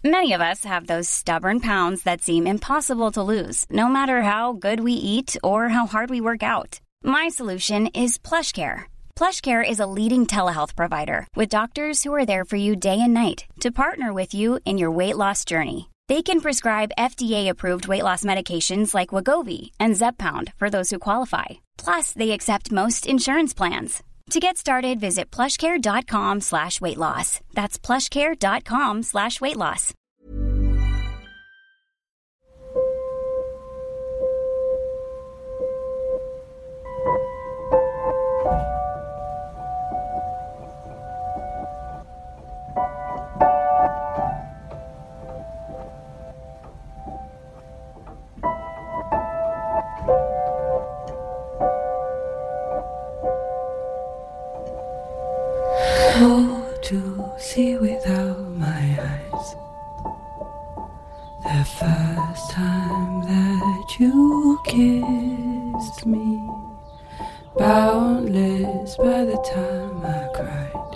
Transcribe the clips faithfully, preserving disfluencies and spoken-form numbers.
Many of us have those stubborn pounds that seem impossible to lose, no matter how good we eat or how hard we work out. My solution is PlushCare. PlushCare is a leading telehealth provider with doctors who are there for you day and night to partner with you in your weight loss journey. They can prescribe F D A-approved weight loss medications like Wegovy and Zepbound for those who qualify. Plus, they accept most insurance plans. To get started, visit plushcare.com slash weight loss. That's plushcare.com slash weight loss. How to see without my eyes. The first time that you kissed me, boundless by the time I cried.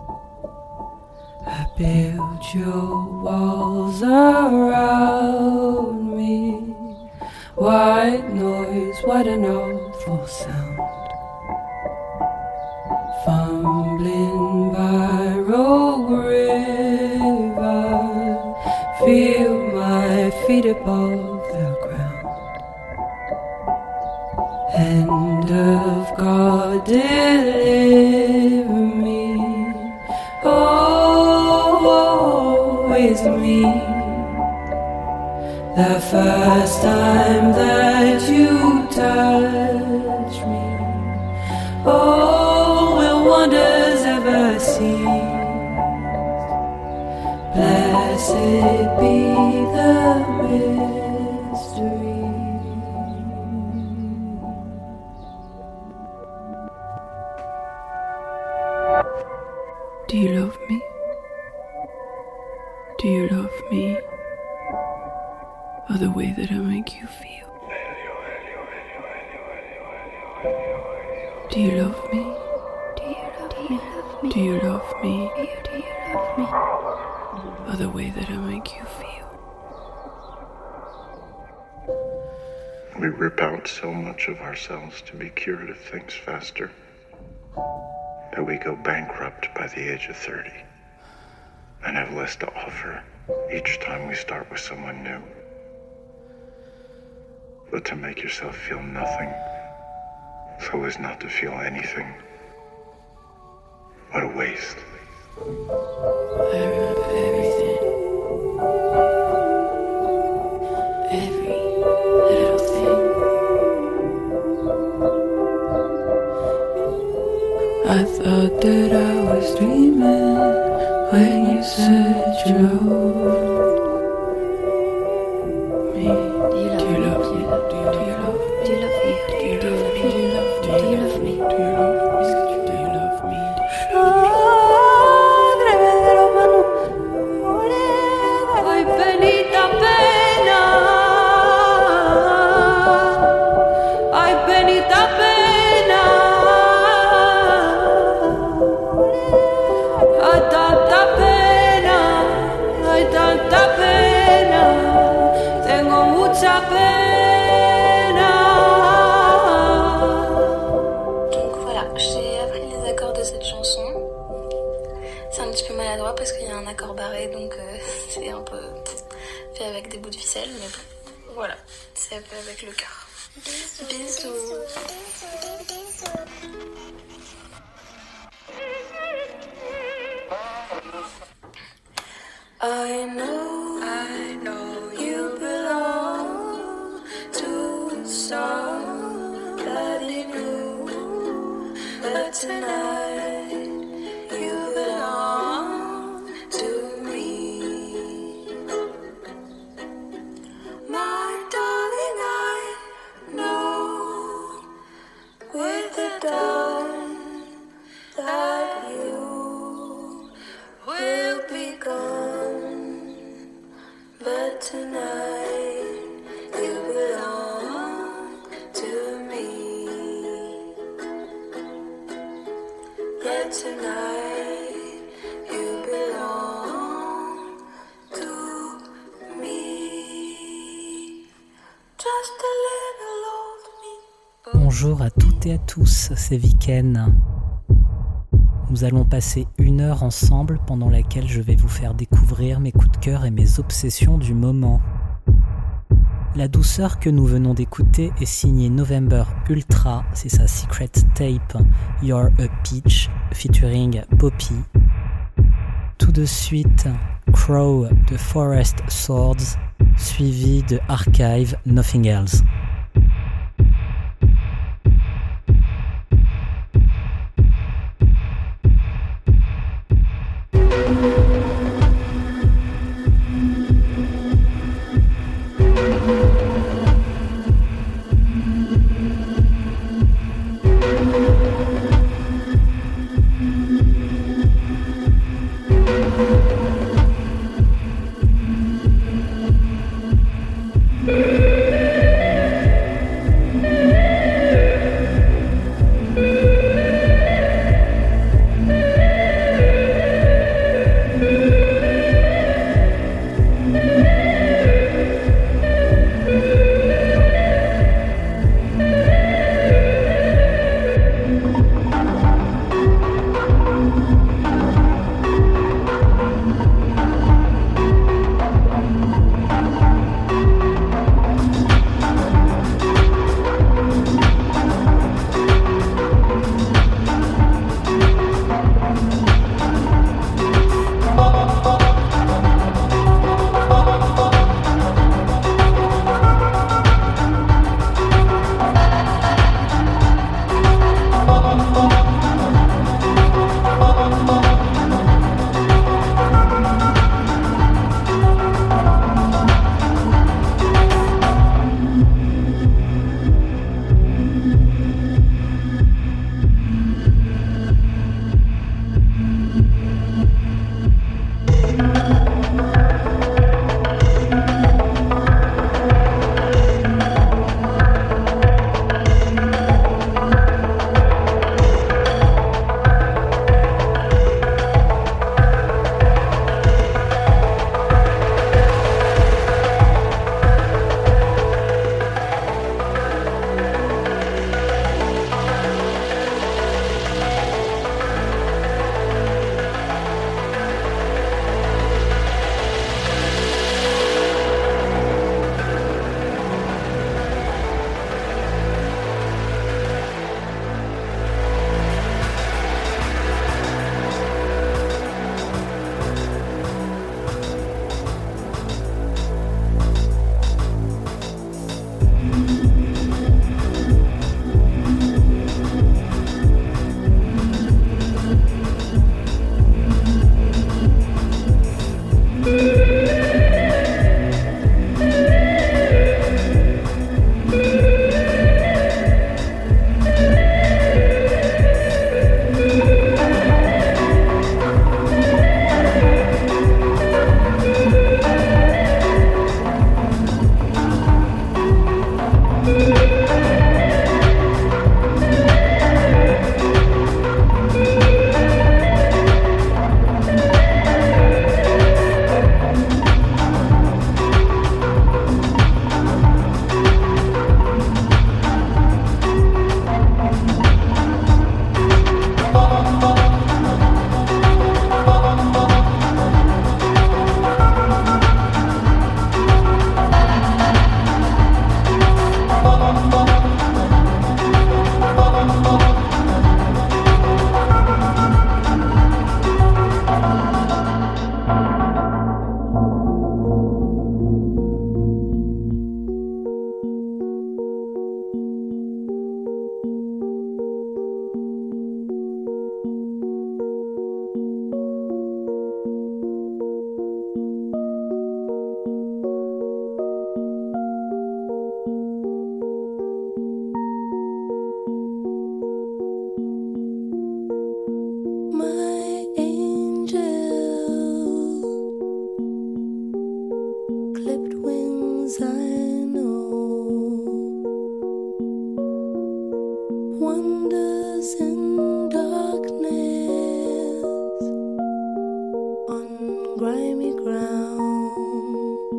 I built your walls around me. White noise, what an awful sound. Fumbling by Rogue River, feel my feet above the ground. Hand of God, deliver me. Oh, with me. The first time that you touched me. Oh, will wonders ever cease? Blessed be the mystery. Do you love me? Do you love me? Or the way that I make you feel? Do you love me? Do you love me? Do you love me? Do you love me? Or the way that I make you feel? We rip out so much of ourselves to be cured of things faster that we go bankrupt by the age of thirty and have less to offer each time we start with someone new. But to make yourself feel nothing so as not to feel anything. What a waste. I remember everything. Every little thing. I thought that I was dreaming when you said you loved me. Do you love me? Do you love me? Do you love me? Do you love me? Do you love me? Do you love me? Do you love me? Do you love me? Ay, penita pena. Ay, penita pena. Ay, tanta pena. Ay, tanta pena. Tengo mucha pena. Donc voilà, j'ai appris les accords de cette chanson. C'est un petit peu maladroit parce qu'il y a un accord barré, donc euh, c'est un peu fait avec des bouts de ficelle, mais bon, voilà, c'est fait avec le cœur. Bisous. Bisous. I know, I know you belong to somebody new, but tonight you belong to me. My darling, I know with the dawn that you will be gone, but tonight you belong to me. Yet tonight you belong to Bonjour à toutes et à tous, c'est Viken. Nous allons passer une heure ensemble pendant laquelle je vais vous faire découvrir mes coups de cœur et mes obsessions du moment. La douceur que nous venons d'écouter est signée November Ultra, c'est sa secret tape You're a Peach featuring Poppy. Tout de suite, Crow de Forest Swords, suivi de Archive Nothing Else.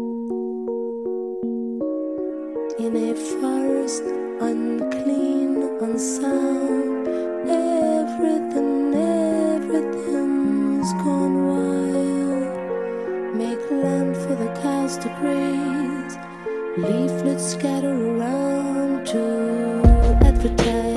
in a forest unclean one sound. Everything, everything's gone wild. Make land for the cows to graze. Leaflets scatter around to advertise.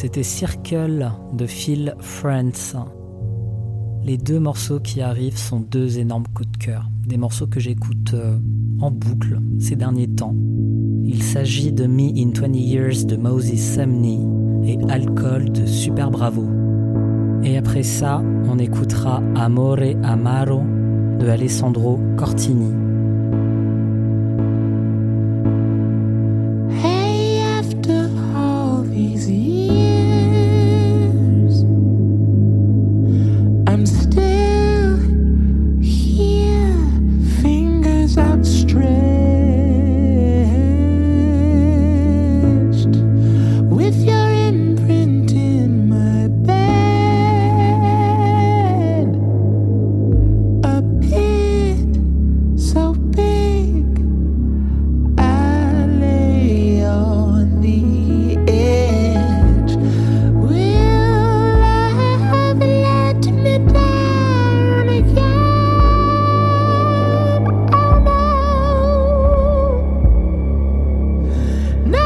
C'était Circle de Phil France. Les deux morceaux qui arrivent sont deux énormes coups de cœur, des morceaux que j'écoute euh, en boucle ces derniers temps. Il s'agit de Me in twenty years de Moses Sumney et Alcool de Super Bravo. Et après ça, on écoutera Amore Amaro de Alessandro Cortini. Hey, after all these years, I'm still here, fingers outstretched, with your imprint in my bed, a pit so big I lay on the edge. Will I have let me down again? Oh no, no,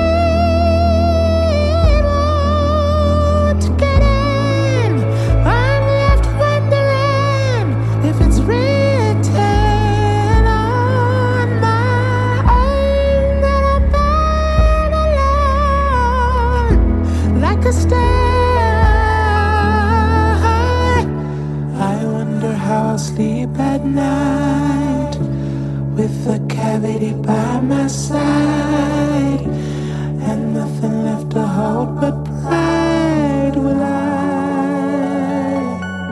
it won't get in. I'm left wondering if it's written on my own that I burn alone like a star. I wonder how I'll sleep at night with a cavity by my side and nothing left to hold but pride. Will I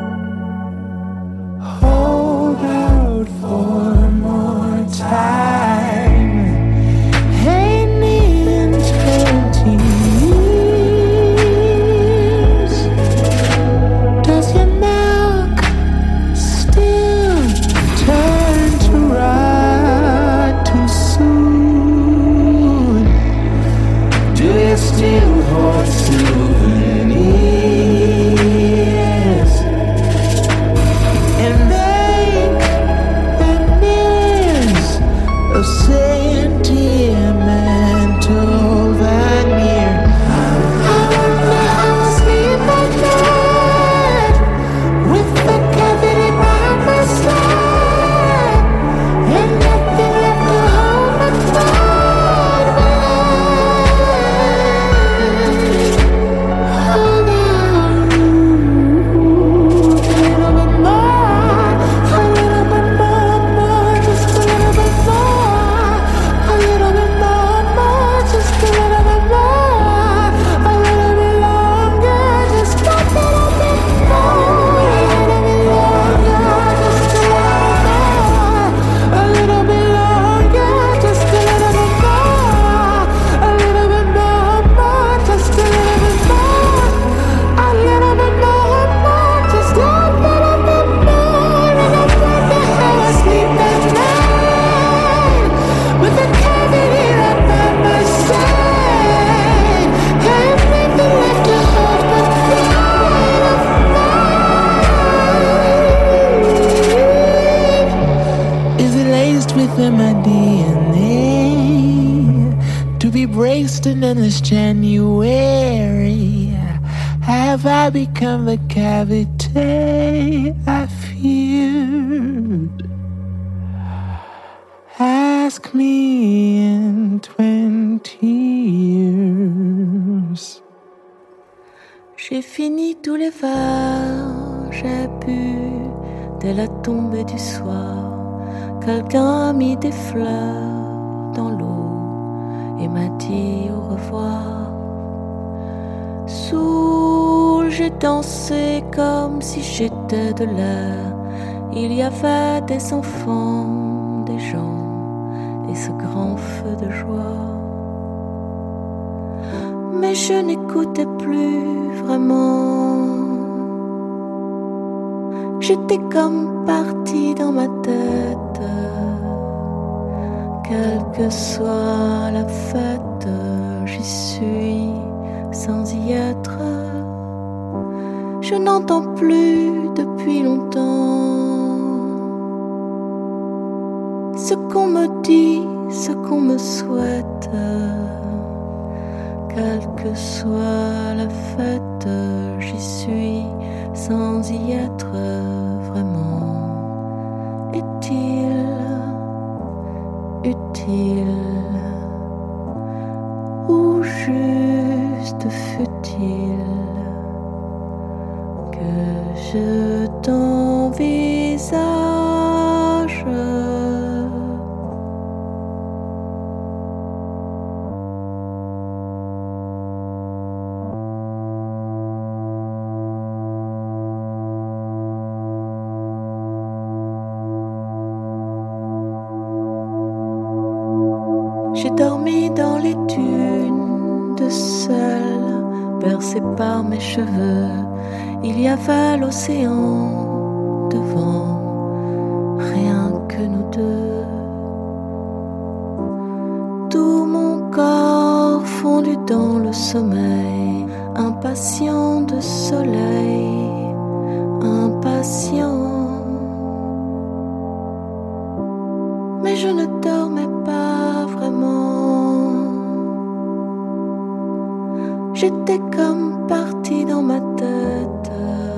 hold out for more time? Hey, me in twenty years, does your milk still turn to rot too soon? Do you still hold souvenirs and make the news of sentimental veneer? I wonder how I sleep at night with the cavity by my side and nothing left to hold but pride. Hold on, a little bit more, a little bit more, more, just a little bit more, a little bit more, more, just a little bit more, a little bit longer, just a little bit more, a little bit longer, just a little more, a little bit longer, just a little bit more, a little bit more, more, just a little bit more, a little bit more, more, just a little bit more. And I wonder how I sleep at night with a cavity right by my side and nothing left to hold but pride of mine. Is it laced with my D N A to be braced in endless January? Have I become the cavity I feared? Ask me in twenty years. J'ai fini tous les verres, j'ai bu dès la tombée du soir. Quelqu'un a mis des fleurs dans l'eau et m'a dit au revoir. Soul, j'ai dansé comme si j'étais de l'air. Il y avait des enfants, des gens et ce grand feu de joie. Mais je n'écoutais plus vraiment. J'étais comme partie dans ma tête. Quelle que soit la fête, j'y suis sans y être. Je n'entends plus depuis longtemps ce qu'on me dit, ce qu'on me souhaite. Quelle que soit la fête, j'y suis sans y être vraiment. Est-il utile ou juste futile que je t'envisage? J'ai dormi dans les dunes de sel, bercé par mes cheveux. Il y avait l'océan devant, rien que nous deux. Tout mon corps fondu dans le sommeil, impatient de soleil, impatient. Mais je ne dormais pas vraiment. J'étais comme partie dans ma tête.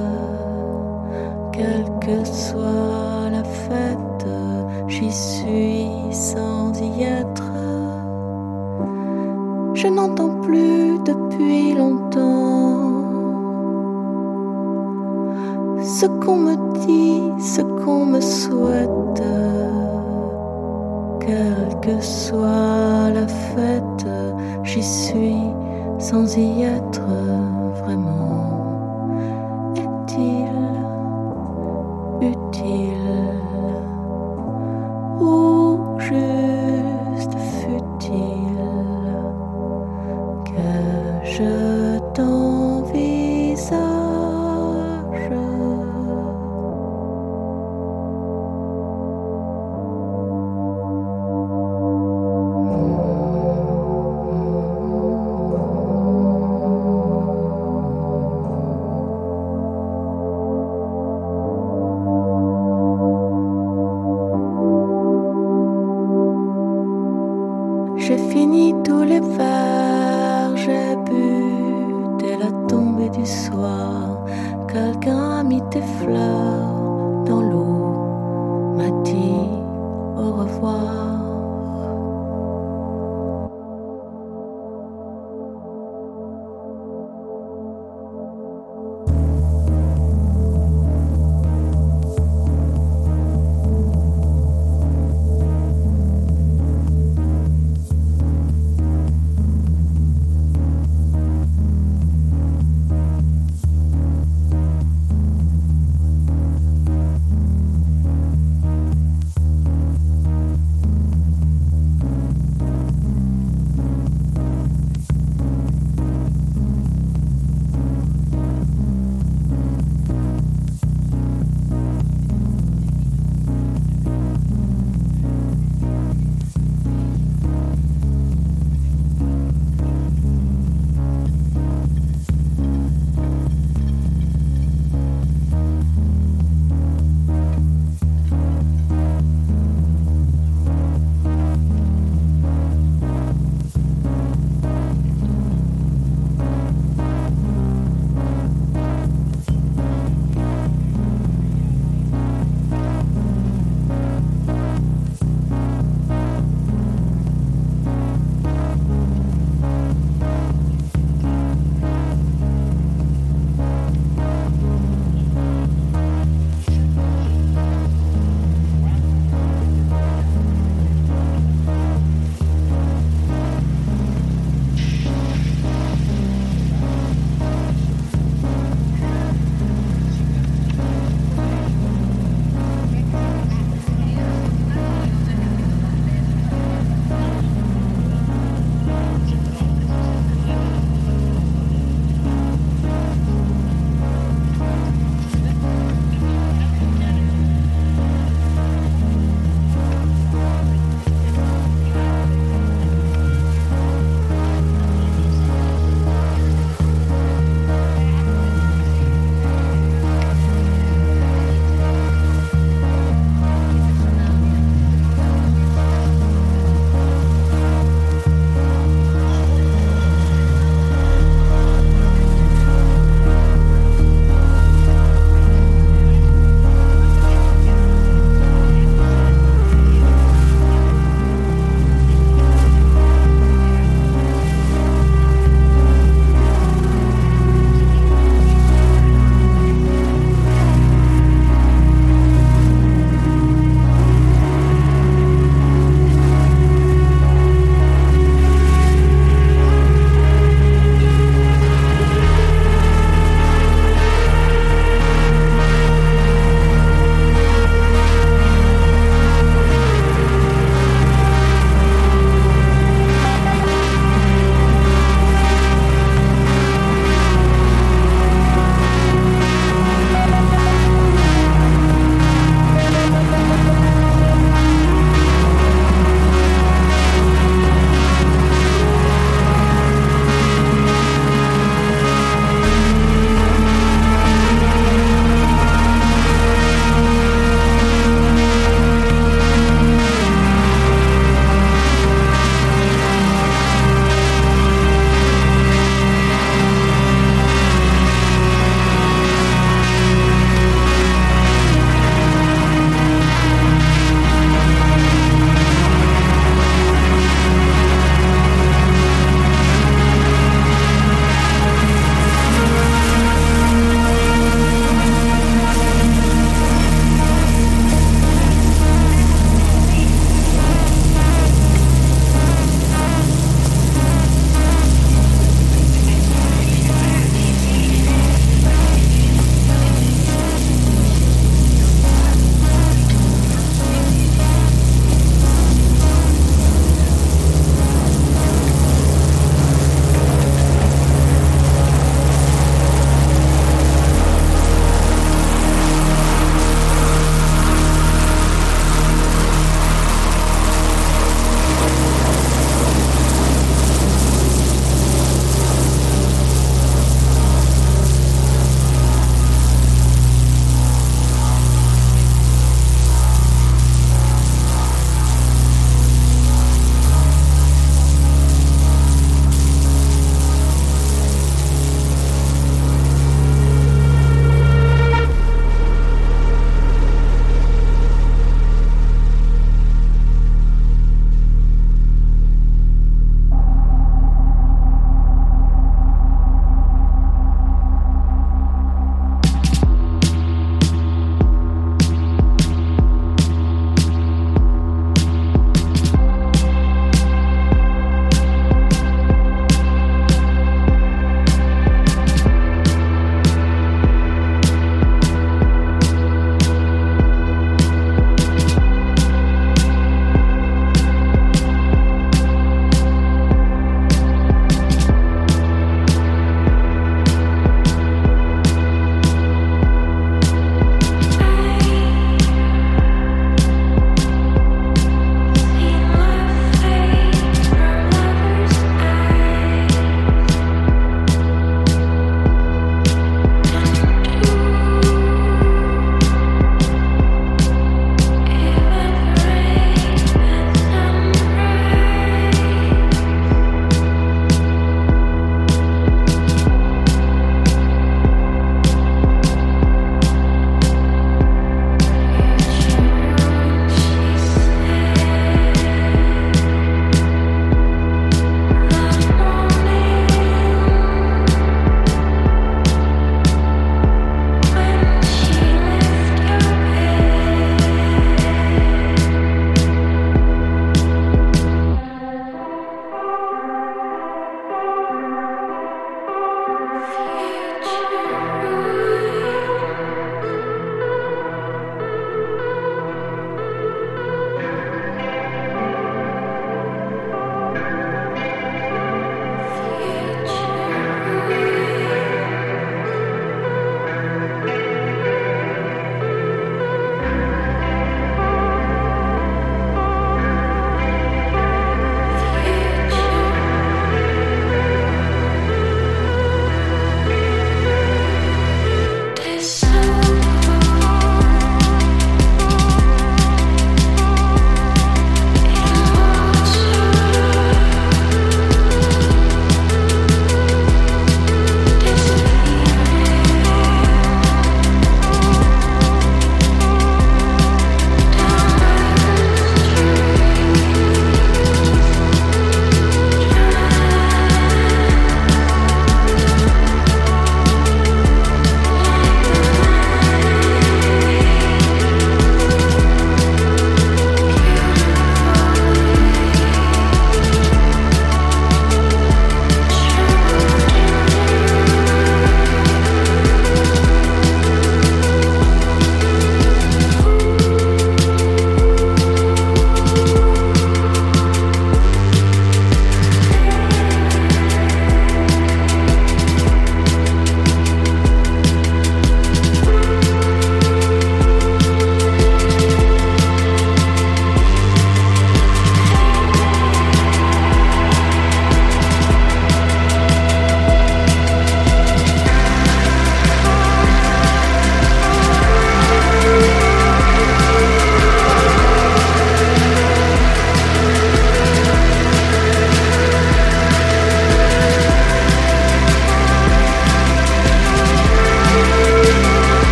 Quelle que soit la fête, j'y suis sans y être. Je n'entends plus depuis longtemps ce qu'on me dit, ce qu'on me souhaite. Quelle que soit la fête, j'y suis sans y être vraiment. Est-il utile ou juste futile que je t'envisage? J'ai fini tous les verres, j'ai bu dès la tombée du soir. Quelqu'un a mis tes fleurs dans l'eau, m'a dit au revoir.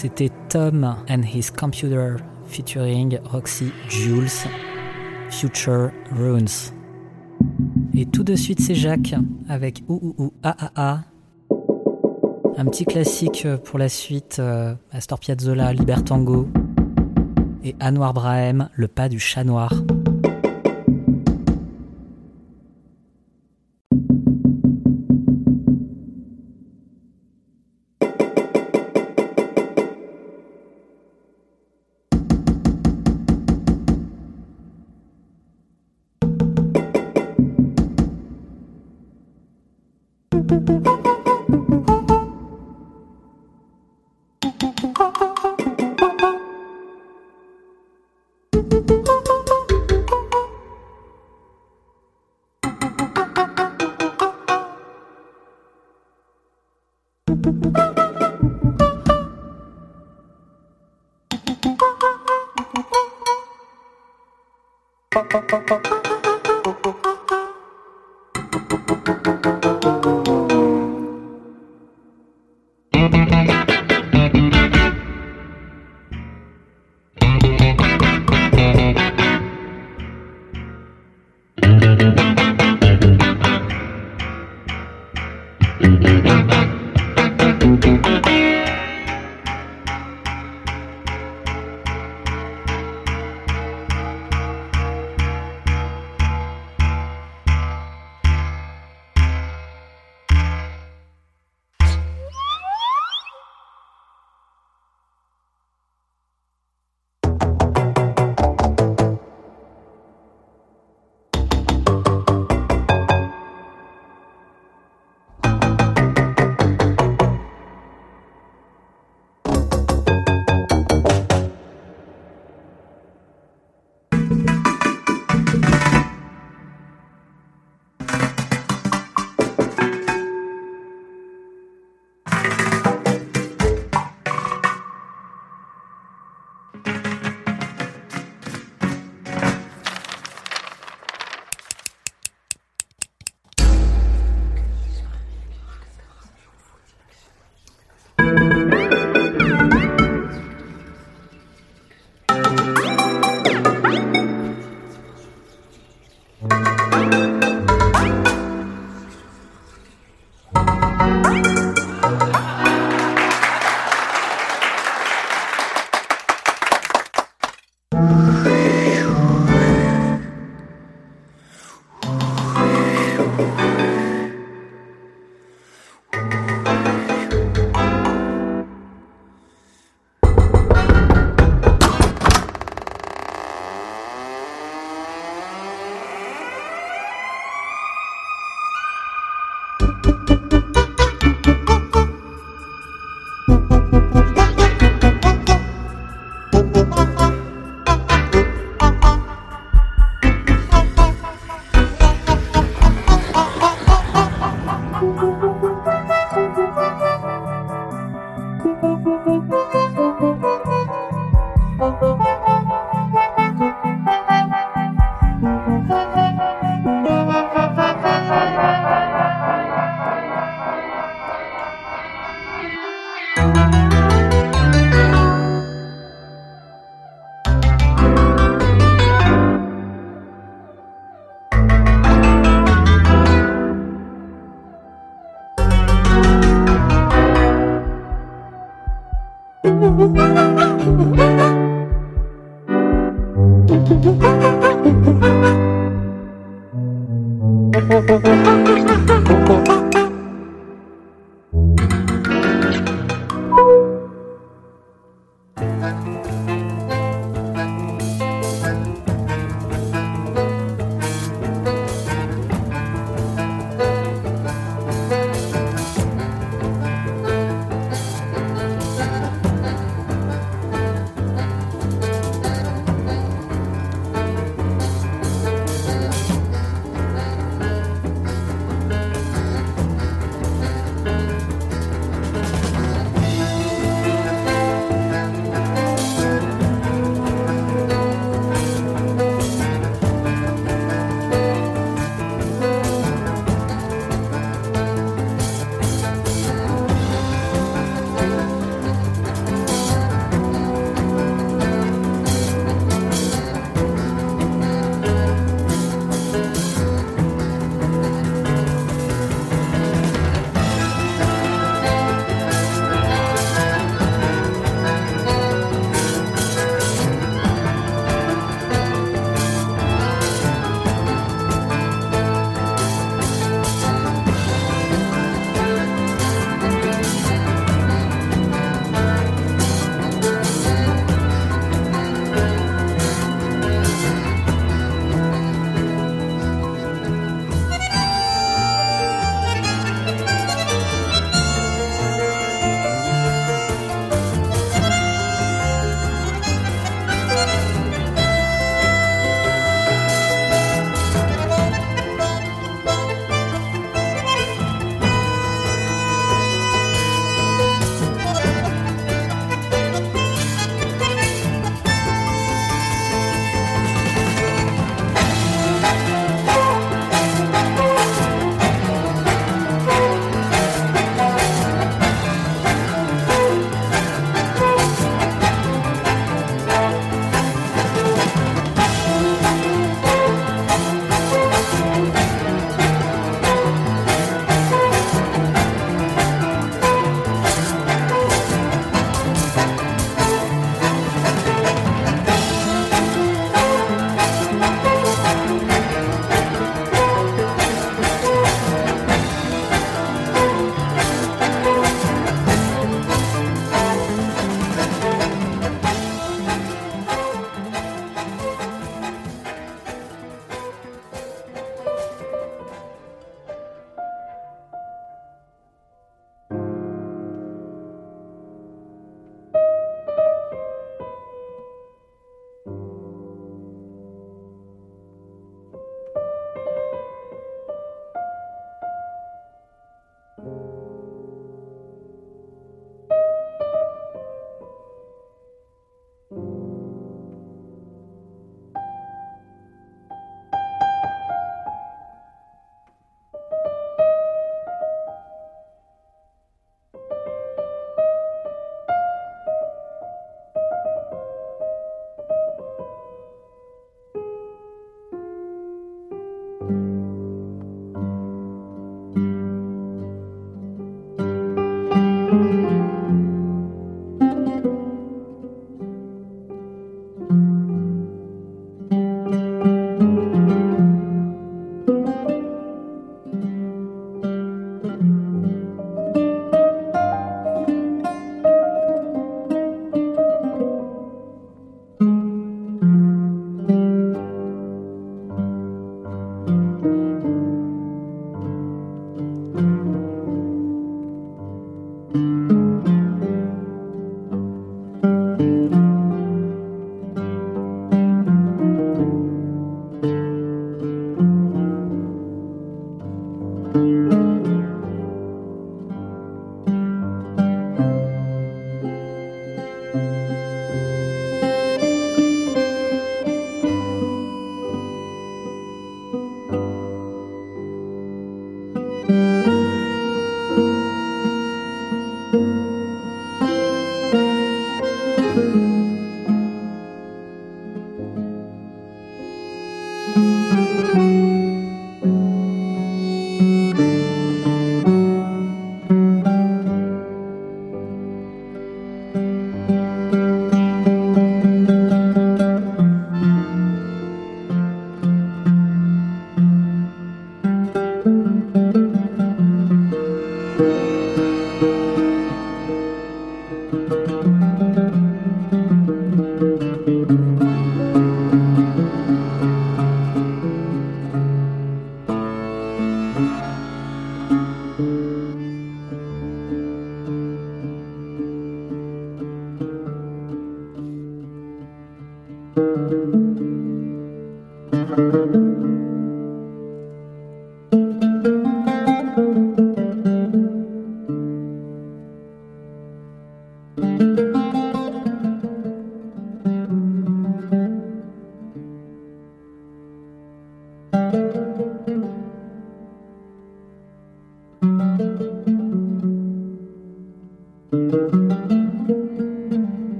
C'était Tom and His Computer featuring Roxy Jules, Future Runes. Et tout de suite c'est Jacques avec Ouh Ouh Ouh Ah Ah Ah. Un petit classique pour la suite, euh, Astor Piazzolla, Libertango. Et Anwar Brahim, Le pas du chat noir.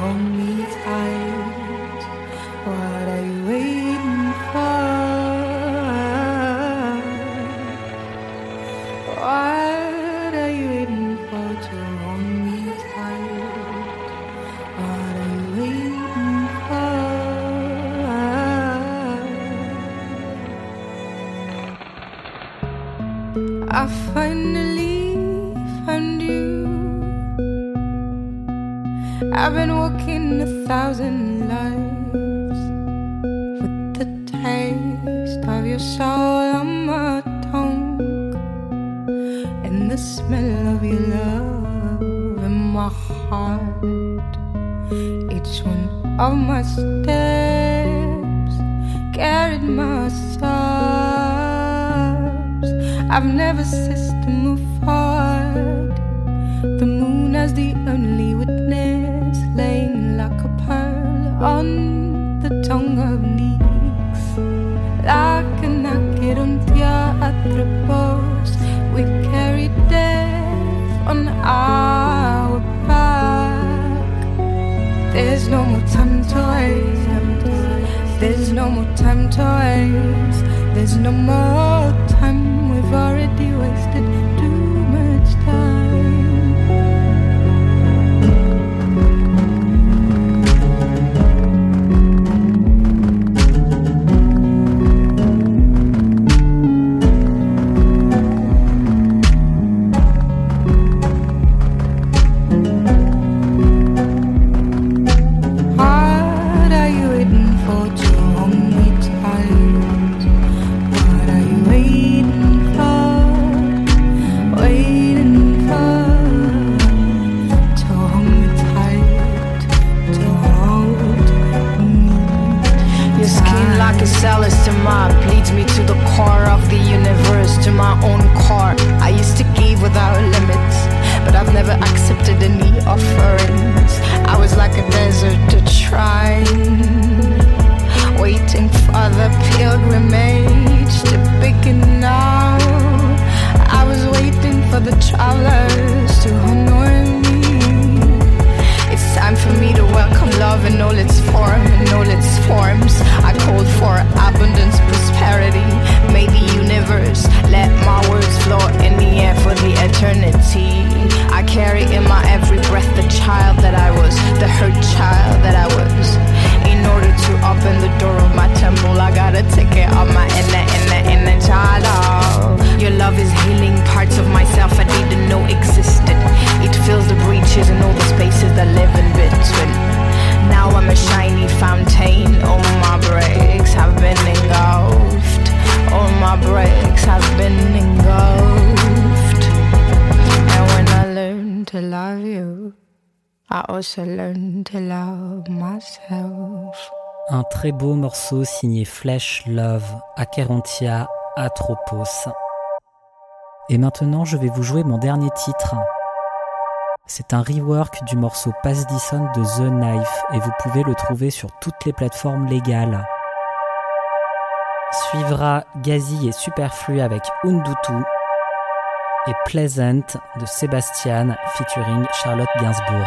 hold me tight. What are you waiting for? What are you waiting for to hold me tight? What are you waiting for? I finally found you. I've been walking a thousand lives with the taste of your soul on my tongue and the smell of your love in my heart. Each one of my steps carried my sobs. I've never ceased to move forward. The moon as the only witness, laying like a pearl on the tongue of Nyx. Like a naked on theatropos, we carry death on our back. There's no more time to waste. There's no more time to waste. There's no more time. We've already wasted too much time. Un très beau morceau signé Flesh Love, Acherontia Atropos. Et maintenant, je vais vous jouer mon dernier titre. C'est un rework du morceau Pass Dison de The Knife et vous pouvez le trouver sur toutes les plateformes légales. Suivra Gazi et Superflu avec Undutu et Pleasant de Sébastien featuring Charlotte Gainsbourg.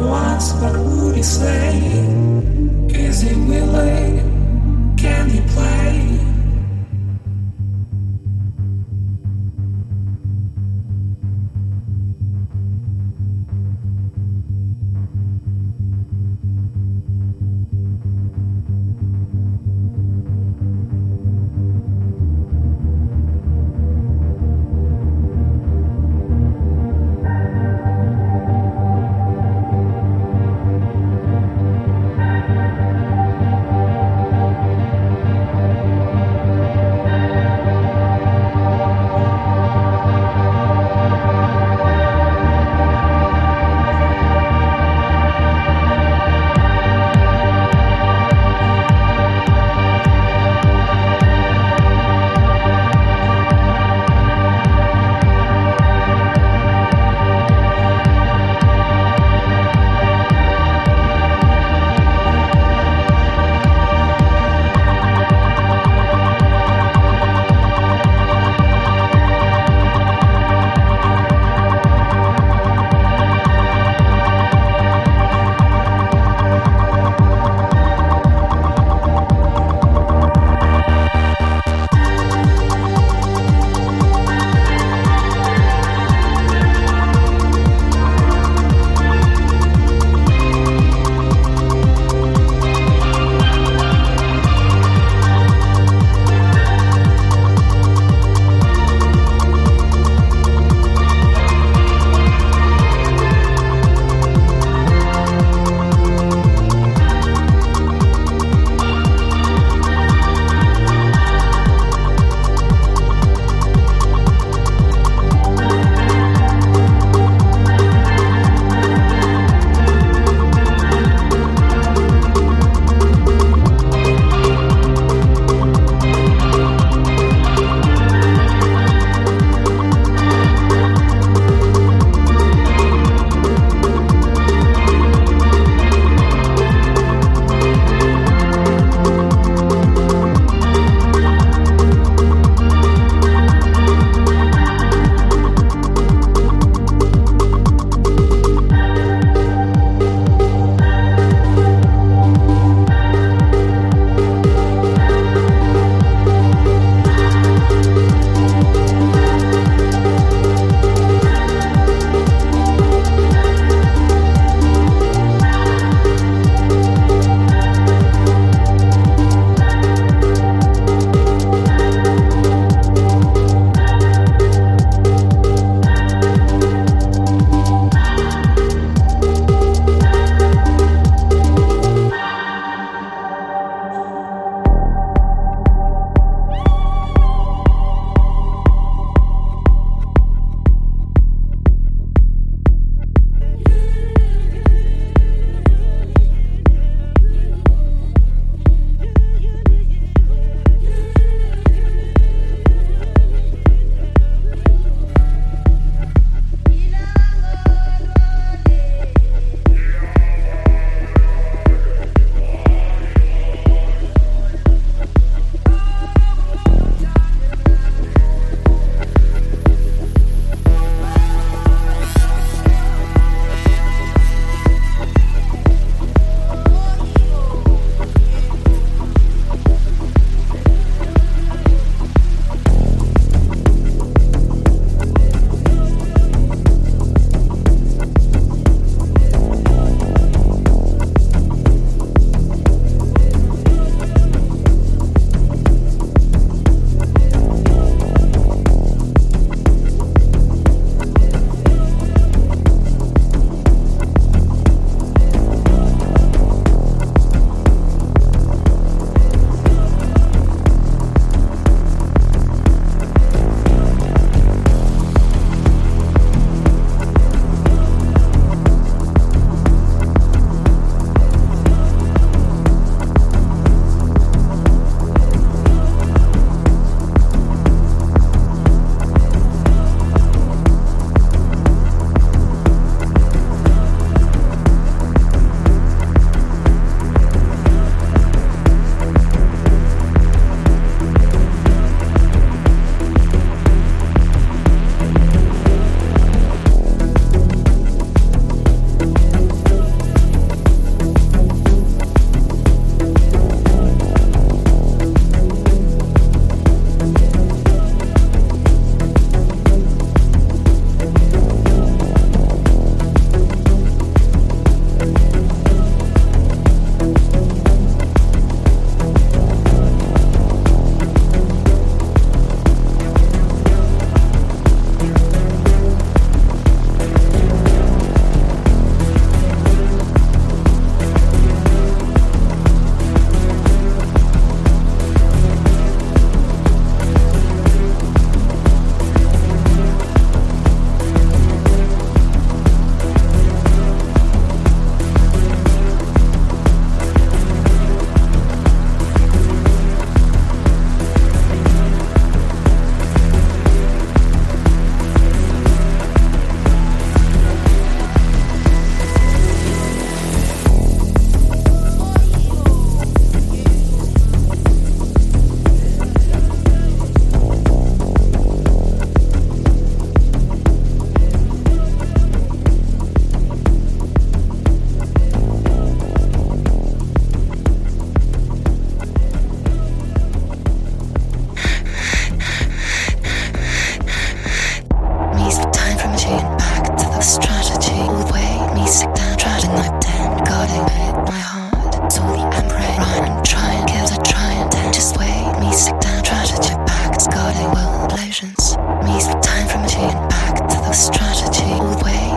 once, what would he say? Is he willing? Can he play?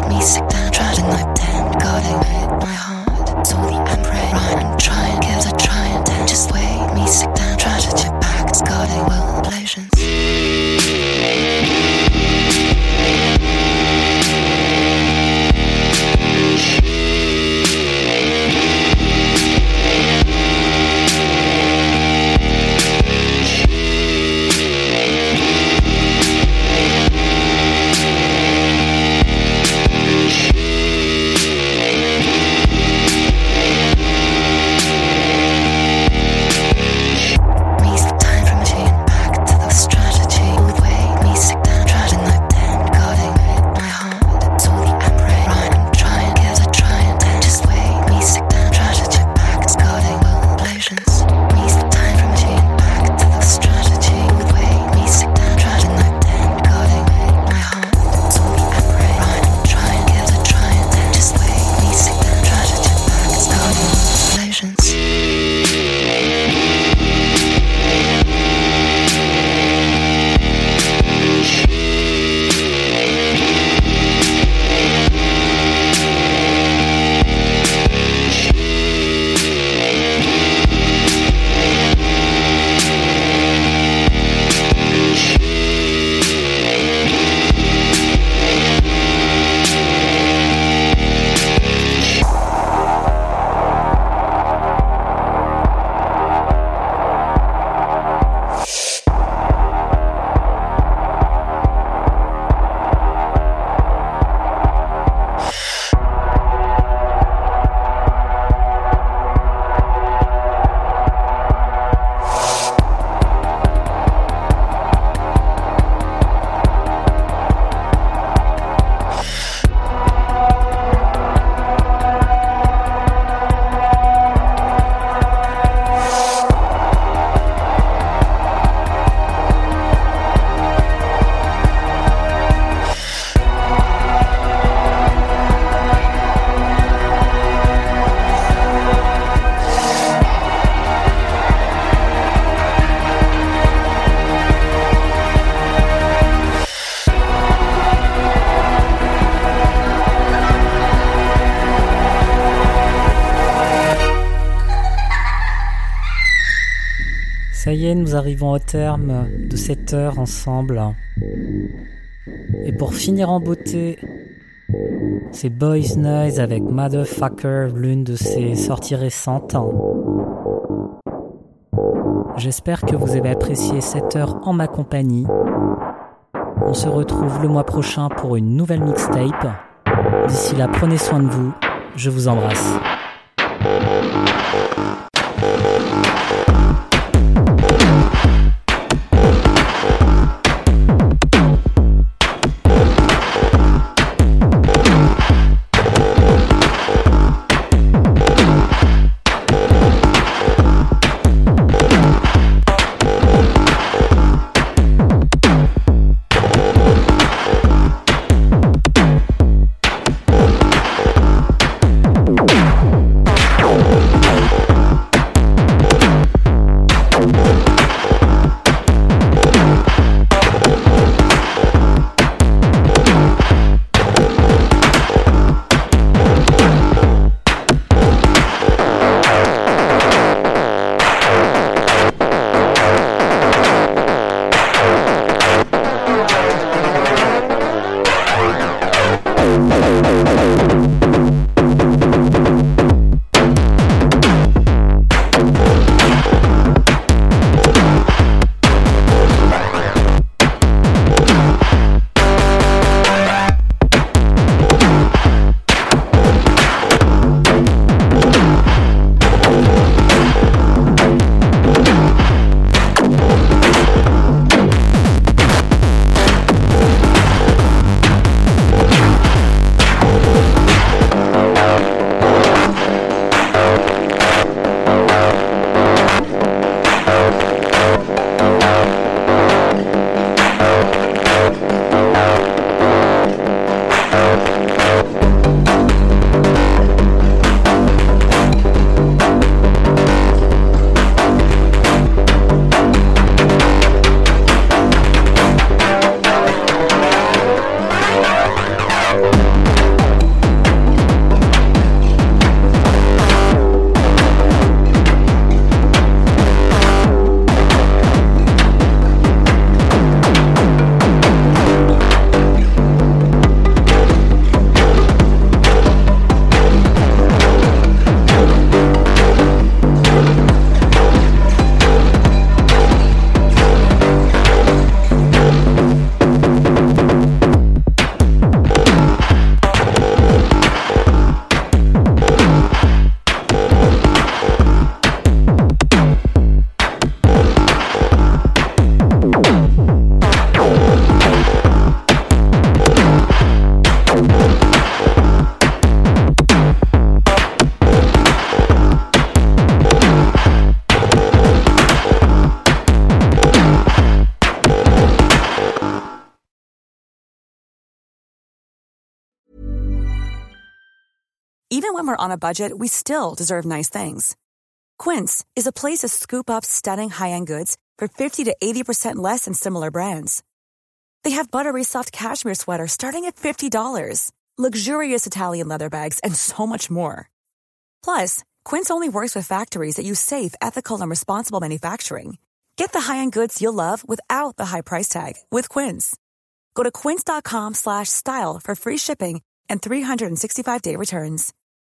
me sick down, tried and I'm dead. God, it hit my heart. Saw the emperor run and try and kill the try and then just wait. Me sick down, tried to chip back. It's got it, will explosions. Ça y est, nous arrivons au terme de cette heure ensemble. Et pour finir en beauté, c'est Boys Noise avec Motherfucker, l'une de ses sorties récentes. J'espère que vous avez apprécié cette heure en ma compagnie. On se retrouve le mois prochain pour une nouvelle mixtape. D'ici là, prenez soin de vous. Je vous embrasse. Even when we're on a budget, we still deserve nice things. Quince is a place to scoop up stunning high-end goods for fifty to eighty percent less than similar brands. They have buttery soft cashmere sweaters starting at fifty dollars, luxurious Italian leather bags, and so much more. Plus, Quince only works with factories that use safe, ethical, and responsible manufacturing. Get the high-end goods you'll love without the high price tag with Quince. Go to quince.com slash style for free shipping and three sixty-five day returns.